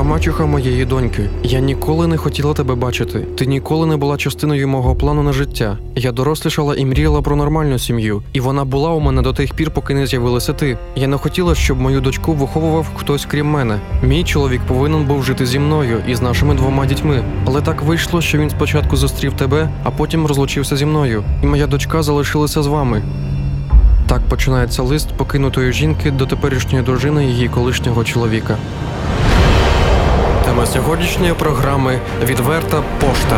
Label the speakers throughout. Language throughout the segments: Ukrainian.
Speaker 1: мачуха моєї доньки. Я ніколи не хотіла тебе бачити. Ти ніколи не була частиною мого плану на життя. Я дорослішала і мріяла про нормальну сім'ю. І вона була у мене до тих пір, поки не з'явилася ти. Я не хотіла, щоб мою дочку виховував хтось крім мене. Мій чоловік повинен був жити зі мною і з нашими 2 дітьми. Але так вийшло, що він спочатку зустрів тебе, а потім розлучився зі мною. І моя дочка залишилася з вами. Так починається лист покинутої жінки до теперішньої дружини її колишнього чоловіка. Тема сьогоднішньої програми – відверта пошта.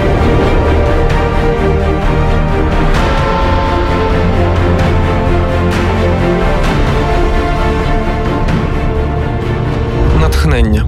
Speaker 1: Натхнення.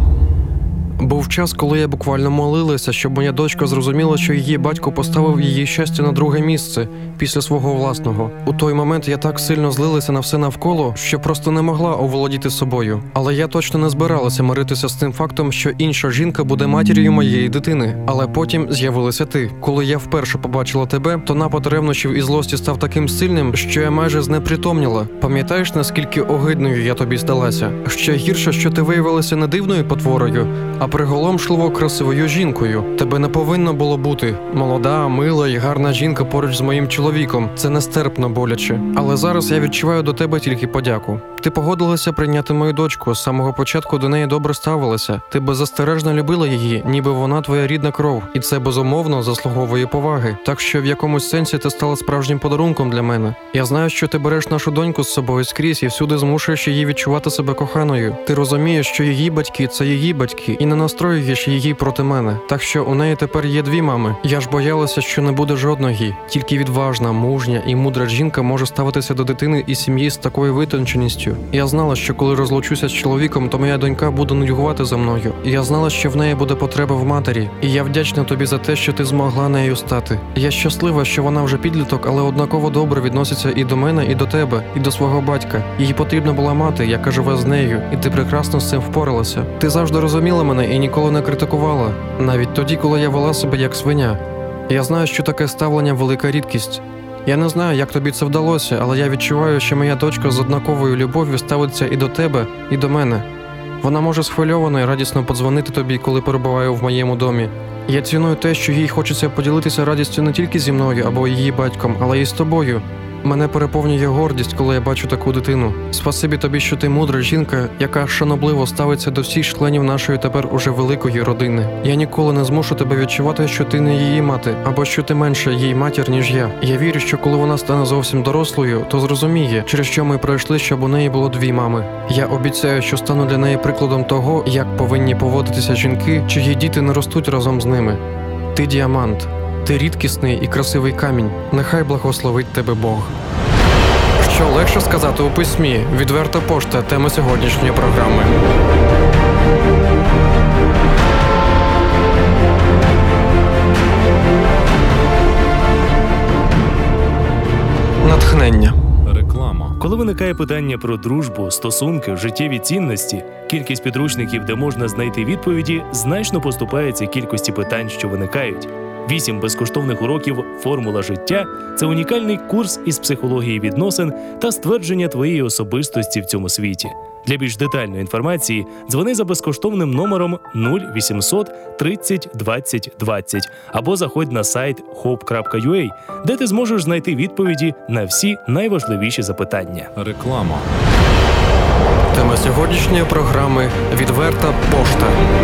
Speaker 1: Був час, коли я буквально молилася, щоб моя дочка зрозуміла, що її батько поставив її щастя на друге місце, після свого власного. У той момент я так сильно злилася на все навколо, що просто не могла оволодіти собою. Але я точно не збиралася миритися з тим фактом, що інша жінка буде матір'ю моєї дитини. Але потім з'явилася ти. Коли я вперше побачила тебе, то напад ревнощів і злості став таким сильним, що я майже знепритомніла. Пам'ятаєш, наскільки огидною я тобі здалася? Ще гірше, що ти виявилася не дивною потворою, а приголомшливо красивою жінкою. Тебе не повинно було бути. Молода, мила і гарна жінка поруч з моїм чоловіком. Це нестерпно боляче. Але зараз я відчуваю до тебе тільки подяку. Ти погодилася прийняти мою дочку. З самого початку до неї добре ставилася. Ти беззастережно любила її, ніби вона твоя рідна кров. І це, безумовно, заслуговує поваги. Так що в якомусь сенсі ти стала справжнім подарунком для мене. Я знаю, що ти береш нашу доньку з собою скрізь і всюди змушуєш її відчувати себе коханою. Ти розумієш, що її батьки – це її батьки, і не настроюєш її проти мене. Так що у неї тепер є 2 мами. Я ж боялася, що не буде жодної. Тільки відважна, мужня і мудра жінка може ставитися до дитини і сім'ї з такою витонченістю. Я знала, що коли розлучуся з чоловіком, то моя донька буде нудьгувати за мною. І я знала, що в неї буде потреба в матері. І я вдячна тобі за те, що ти змогла нею стати. Я щаслива, що вона вже підліток, але однаково добре відноситься і до мене, і до тебе, і до свого батька. Їй потрібна була мати, яка живе з нею, і ти прекрасно з цим впоралася. Ти завжди розуміла мене і ніколи не критикувала. Навіть тоді, коли я вела себе як свиня. Я знаю, що таке ставлення – велика рідкість. Я не знаю, як тобі це вдалося, але я відчуваю, що моя дочка з однаковою любов'ю ставиться і до тебе, і до мене. Вона може схвильовано і радісно подзвонити тобі, коли перебуває в моєму домі. Я ціную те, що їй хочеться поділитися радістю не тільки зі мною або її батьком, але й з тобою. Мене переповнює гордість, коли я бачу таку дитину. Спасибі тобі, що ти мудра жінка, яка шанобливо ставиться до всіх членів нашої тепер уже великої родини. Я ніколи не змушу тебе відчувати, що ти не її мати, або що ти менше їй матір, ніж я. Я вірю, що коли вона стане зовсім дорослою, то зрозуміє, через що ми пройшли, щоб у неї було 2 мами. Я обіцяю, що стану для неї прикладом того, як повинні поводитися жінки, чиї діти не ростуть разом з ними. Ти діамант. Ти рідкісний і красивий камінь. Нехай благословить тебе Бог. Що легше сказати у письмі? Відверта пошта – тема сьогоднішньої програми. Натхнення.
Speaker 2: Реклама. Коли виникає питання про дружбу, стосунки, життєві цінності, кількість підручників, де можна знайти відповіді, значно поступається кількості питань, що виникають. 8 безкоштовних уроків «Формула життя» – це унікальний курс із психології відносин та ствердження твоєї особистості в цьому світі. Для більш детальної інформації дзвони за безкоштовним номером 0800 30 20 20 або заходь на сайт hope.ua, де ти зможеш знайти відповіді на всі найважливіші запитання.
Speaker 3: Реклама.
Speaker 1: Тема сьогоднішньої програми – відверта пошта.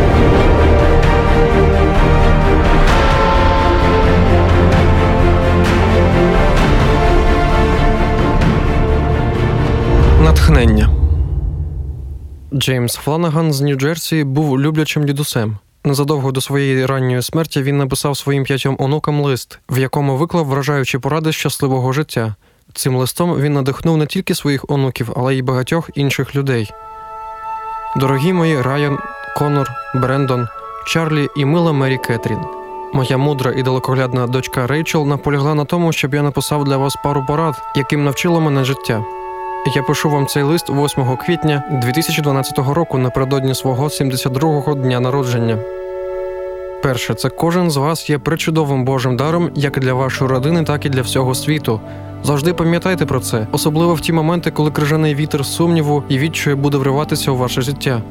Speaker 1: Натхнення. Джеймс Фланаган з Нью-Джерсі був люблячим дідусем. Незадовго до своєї ранньої смерті він написав своїм 5 онукам лист, в якому виклав вражаючі поради щасливого життя. Цим листом він надихнув не тільки своїх онуків, але й багатьох інших людей. Дорогі мої Райан, Конор, Брендон, Чарлі і мила Мері Кетрін. Моя мудра і далекоглядна дочка Рейчел наполягла на тому, щоб я написав для вас пару порад, яким навчило мене життя. Я пишу вам цей лист 8 квітня 2012 року напередодні свого 72-го дня народження. Перше, це кожен з вас є пречудовим Божим даром як для вашої родини, так і для всього світу. Завжди пам'ятайте про це, особливо в ті моменти, коли крижаний вітер сумніву і відчаю буде вриватися у ваше життя.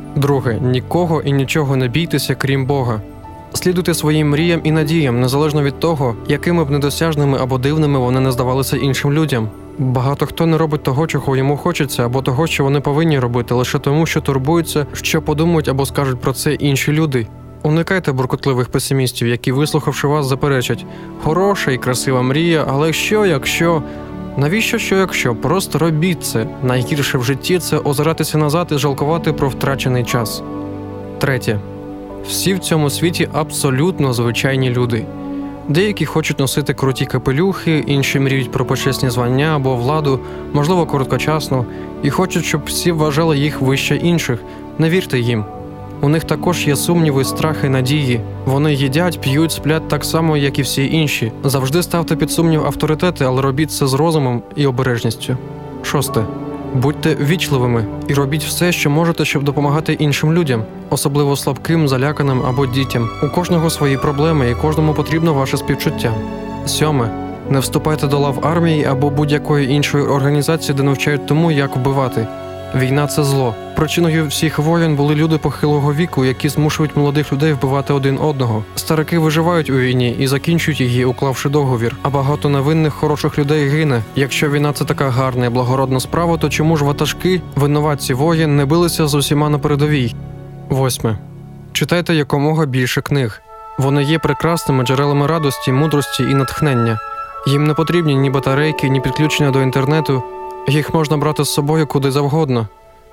Speaker 1: Друге. Нікого і нічого не бійтеся, крім Бога. Слідуйте своїм мріям і надіям, незалежно від того, якими б недосяжними або дивними вони не здавалися іншим людям. Багато хто не робить того, чого йому хочеться, або того, що вони повинні робити, лише тому, що турбуються, що подумають або скажуть про це інші люди. Уникайте буркотливих песимістів, які, вислухавши вас, заперечать: «Хороша і красива мрія, але що, якщо…» Навіщо що, якщо? Просто робіть це. Найгірше в житті – це озиратися назад і жалкувати про втрачений час. Третє. Всі в цьому світі абсолютно звичайні люди. Деякі хочуть носити круті капелюхи, інші мріють про почесні звання або владу, можливо, короткочасно, і хочуть, щоб всі вважали їх вище інших. Не вірте їм. У них також є сумніви, страхи, надії. Вони їдять, п'ють, сплять так само, як і всі інші. Завжди ставте під сумнів авторитети, але робіть це з розумом і обережністю. Шосте. Будьте ввічливими і робіть все, що можете, щоб допомагати іншим людям, особливо слабким, заляканим або дітям. У кожного свої проблеми і кожному потрібно ваше співчуття. Сьоме. Не вступайте до лав армії або будь-якої іншої організації, де навчають тому, як вбивати. Війна – це зло. Причиною всіх воєн були люди похилого віку, які змушують молодих людей вбивати один одного. Старики виживають у війні і закінчують її, уклавши договір, а багато невинних хороших людей гине. Якщо війна – це така гарна і благородна справа, то чому ж ватажки, винуватці воєн, не билися з усіма на передовій? Восьме. Читайте якомога більше книг. Вони є прекрасними джерелами радості, мудрості і натхнення. Їм не потрібні ні батарейки, ні підключення до інтернету. Їх можна брати з собою куди завгодно.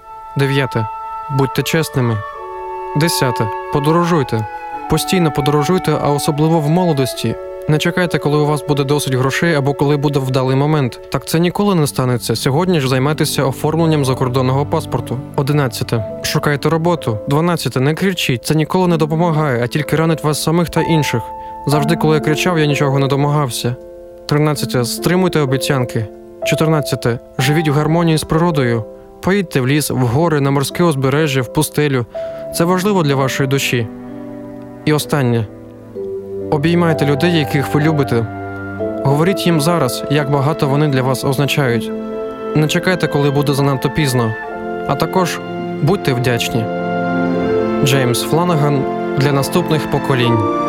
Speaker 1: 9. Будьте чесними. 10. Подорожуйте. Постійно подорожуйте, а особливо в молодості. Не чекайте, коли у вас буде досить грошей або коли буде вдалий момент. Так це ніколи не станеться. Сьогодні ж займайтеся оформленням закордонного паспорту. 11. Шукайте роботу. 12. Не кричіть. Це ніколи не допомагає, а тільки ранить вас самих та інших. Завжди, коли я кричав, я нічого не домагався. 13. Стримуйте обіцянки. 14. Живіть в гармонії з природою. Поїдьте в ліс, в гори, на морське узбережжя, в пустелю. Це важливо для вашої душі. І останнє. Обіймайте людей, яких ви любите. Говоріть їм зараз, як багато вони для вас означають. Не чекайте, коли буде занадто пізно. А також будьте вдячні. Джеймс Фланаган для наступних поколінь.